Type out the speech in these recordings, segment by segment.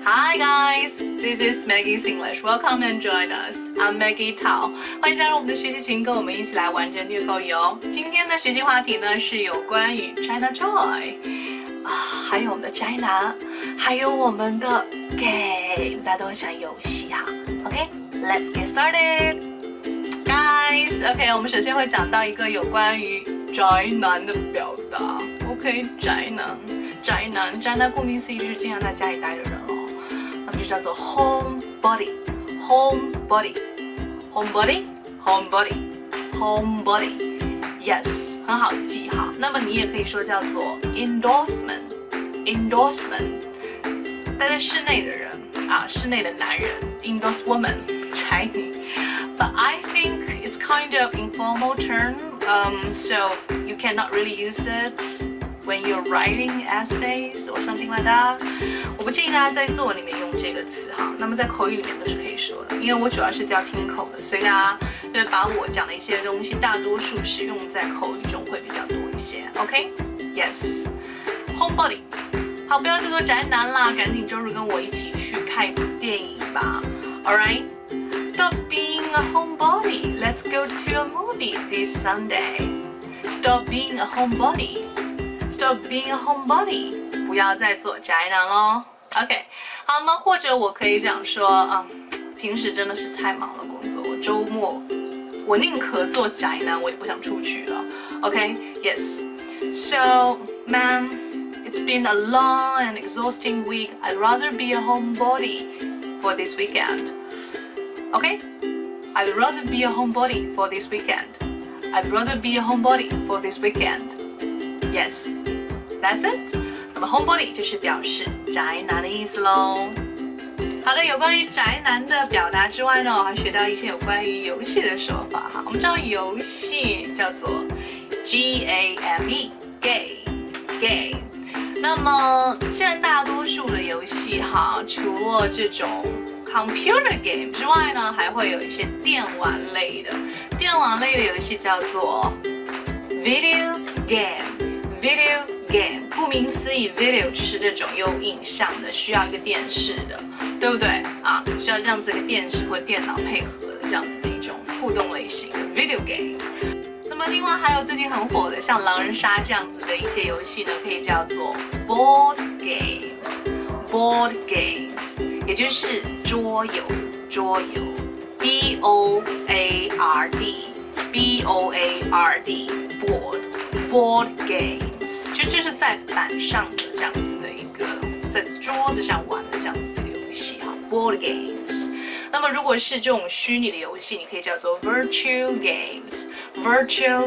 Hi guys, this is Maggie's English. Welcome and join us. I'm Maggie Tao. 欢迎加入我们的学习群，跟我们一起来完整虐口语哦。今天的学习话题呢是有关于 China Joy 还有我们的宅男，还有我们的 game， 大家都很喜欢游戏哈。OK, let's get started, guys. OK, 我们首先会讲到一个有关于宅男的表达。OK, 宅男顾名思义就是经常在家里待的人哦。那么就叫做 homebody。Yes， 很好记哈。那么你也可以说叫做 endorsement， 待在室内的人室内的男人 endorse woman， 宅女。But I think it's kind of informal term, so you cannot really use it when you're writing essays or something like that. 我不建议大家在作文里面用这个词哈，那么在口语里面都是可以说的，因为我主要是教听口的，所以大家就是把我讲的一些东西，大多数是用在口语中会比较多一些。OK, yes, homebody。好，不要再做宅男啦，赶紧周日跟我一起去看一部电影吧。All right, stop being a homebody. Let's go to a movie this Sunday. Stop being a homebody.Stop being a homebody， 不要再做宅男咯。OK， 好吗？或者我可以讲说平时真的是太忙了工作，我周末我宁可做宅男，我也不想出去了。OK，Yes， So man, it's been a long and exhausting week. I'd rather be a homebody for this weekend. OK，I'd rather be a homebody for this weekend. I'd rather be a homebody for this weekend.Yes, that's it. 那么 homebody 就是表示宅男的意思咯。好的，有关于宅男的表达之外呢，我还学到一些有关于游戏的说法哈。我们知道游戏叫做 game game。那么现在大多数的游戏哈，除了这种 computer game 之外呢，还会有一些电玩类的游戏叫做 video game。Video game， 顾名思义 ，video 就是这种有影像的，需要一个电视的，对不对需要这样子一个电视或电脑配合的这样子的一种互动类型的 video game。那么另外还有最近很火的，像狼人杀这样子的一些游戏呢，可以叫做 board games， 也就是桌游 board games， 就这是在板上的这样子的一个，在桌子上玩的这样子的一个游戏哈 ，board games。那么如果是这种虚拟的游戏，你可以叫做 virtual games。OK，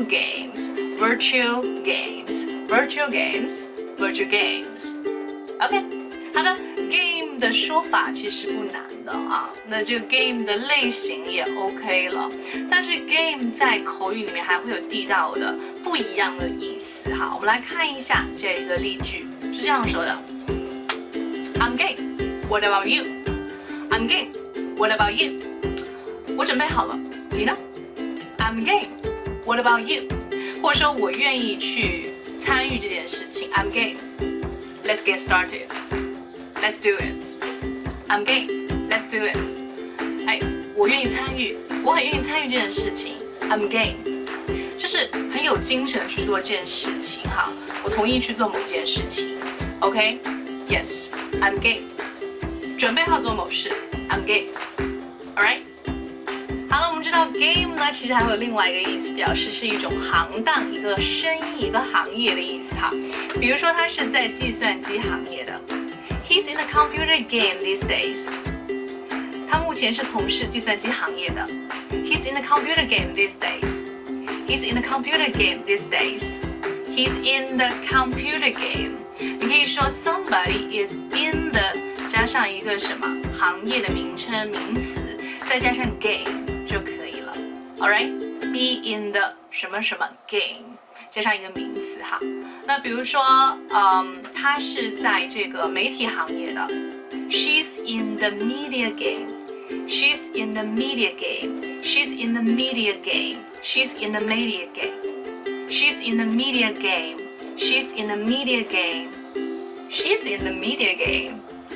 好的 ，game 的说法其实不难的那这个 game 的类型也 OK 了，但是 game 在口语里面还会有地道的不一样的意思哈。我们来看一下这个例句，是这样说的 ：I'm game. What about you? I'm game. What about you? 我准备好了，你呢 ？I'm game. What about you? 或者说我愿意去参与这件事情 ，I'm game. Let's get started. Let's do it. I'm game. Let's do it. 我愿意参与，我很愿意参与这件事情 ，I'm game. 就是很有精神去做这件事情哈，我同意去做某件事情 ，OK， Yes, I'm game， 准备好做某事 ，I'm game， alright， 好了，我们知道 game 呢，其实还会有另外一个意思，表示是一种行当、一个生意、一个行业的意思哈。比如说他是在计算机行业的 ，He's in the computer game these days， 他目前是从事计算机行业的 ，He's in the computer game these days。He's in the computer game these days. He's in the computer game. 你可以说 somebody is in the 加上一个什么行业的名称名词，再加上 game 就可以了。Alright, be in the 什么什么 game 加上一个名词哈。那比如说，他是在这个媒体行业的 ，She's in the media game.She's in the media game. She's in the media game. She's in the media game. She's in the media game. She's in the media game. She's in the media game.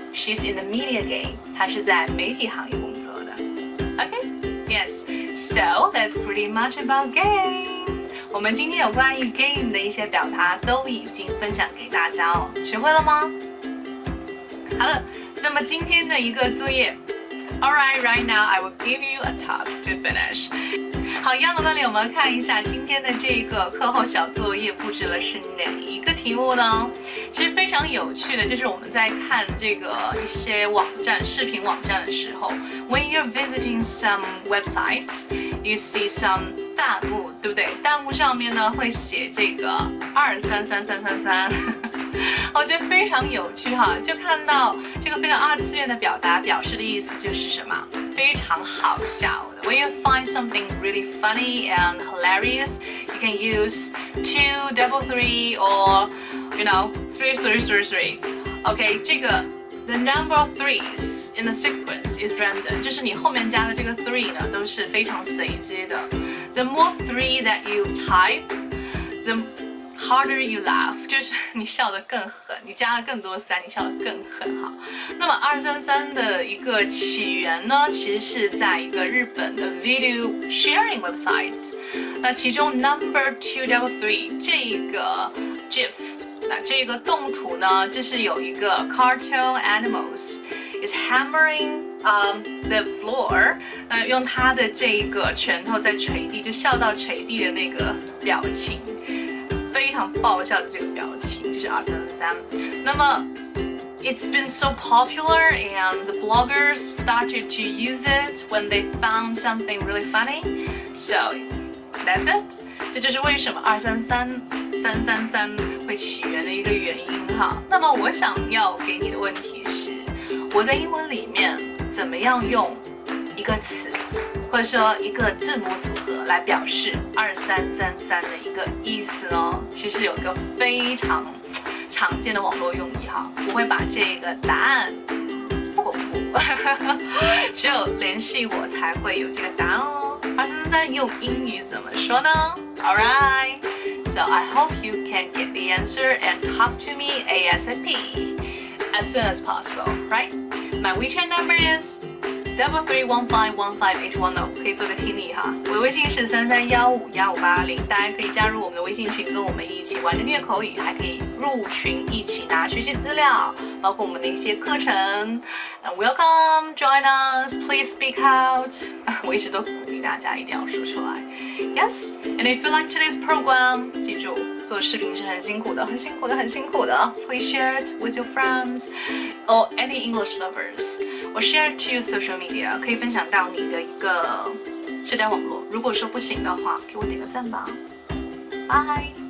She's in the media game. 她是在媒体行业工作的。Okay? Yes. So that's pretty much about game. 我们今天有关于 game 的一些表达都已经分享给大家哦，学会了吗？好了，那么今天的一个作业。Alright, right now I will give you a task to finish. 好，一样的道理，我们看一下今天的这个课后小作业布置了是哪一个题目呢？其实非常有趣的，就是我们在看这个一些网站、视频网站的时候 ，when you're visiting some websites, you see some 弹幕，对不对？弹幕上面呢会写这个2333333。我觉得非常有趣哈，就看到这个非常二次元的表达，表示的意思就是什么？非常好笑的。When you find something really funny and hilarious, you can use 2, 3, or you know 3, 3, 3, 3. OK, 这个 the number of threes in the sequence is random， 就是你后面加的这个 three 呢都是非常随机的。The more three that you type, the harder you laugh， 就是你笑得更狠，你加了更多3，你笑得更狠哈。那么233的一个起源呢，其实是在一个日本的 video sharing website， 那其中 number 233这个 GIF， 那这个动图呢，就是有一个 cartoon animals is hammering the floor， 那用他的这个拳头在捶地，就笑到捶地的那个表情。非常爆笑的这个表情就是233。那么 it's been so popular and the bloggers started to use it when they found something really funny. So that's it. 这就是为什么233333会起源的一个原因哈。那么我想要给你的问题是，我在英文里面怎么样用一个词或者说一个字母组合来表示2333的一个意思呢？其实有一个非常常见的网络用语哈，我会把这个答案不公布，只有联系我才会有这个答案哦。2333用英语怎么说呢 ？Alright, so I hope you can get the answer and talk to me ASAP as soon as possible, right? My WeChat number is 331515810，可以做个听力哈。我的微信是33151580，大家可以加入我们的微信群，跟我们一起玩着虐口语，还可以入群一起拿学习资料，包括我们的一些课程。Welcome, join us, please speak out 。我一直都鼓励大家一定要说出来。Yes, and if you like today's program， 记住做视频是很辛苦的，很辛苦的，很辛苦的。Please share it with your friends or any English lovers. Or share to your social media， 可以分享到你的一个社交网络。如果说不行的话，给我点个赞吧。Bye。